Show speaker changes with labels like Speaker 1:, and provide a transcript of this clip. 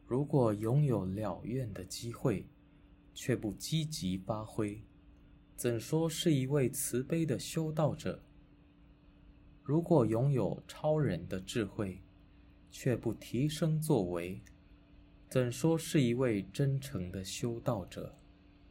Speaker 1: 如果擁有了願的機會，卻不積極發揮，怎說是一位慈悲的修道者？如果擁有超人的智慧，卻不提升作為，怎說是一位真誠的修道者？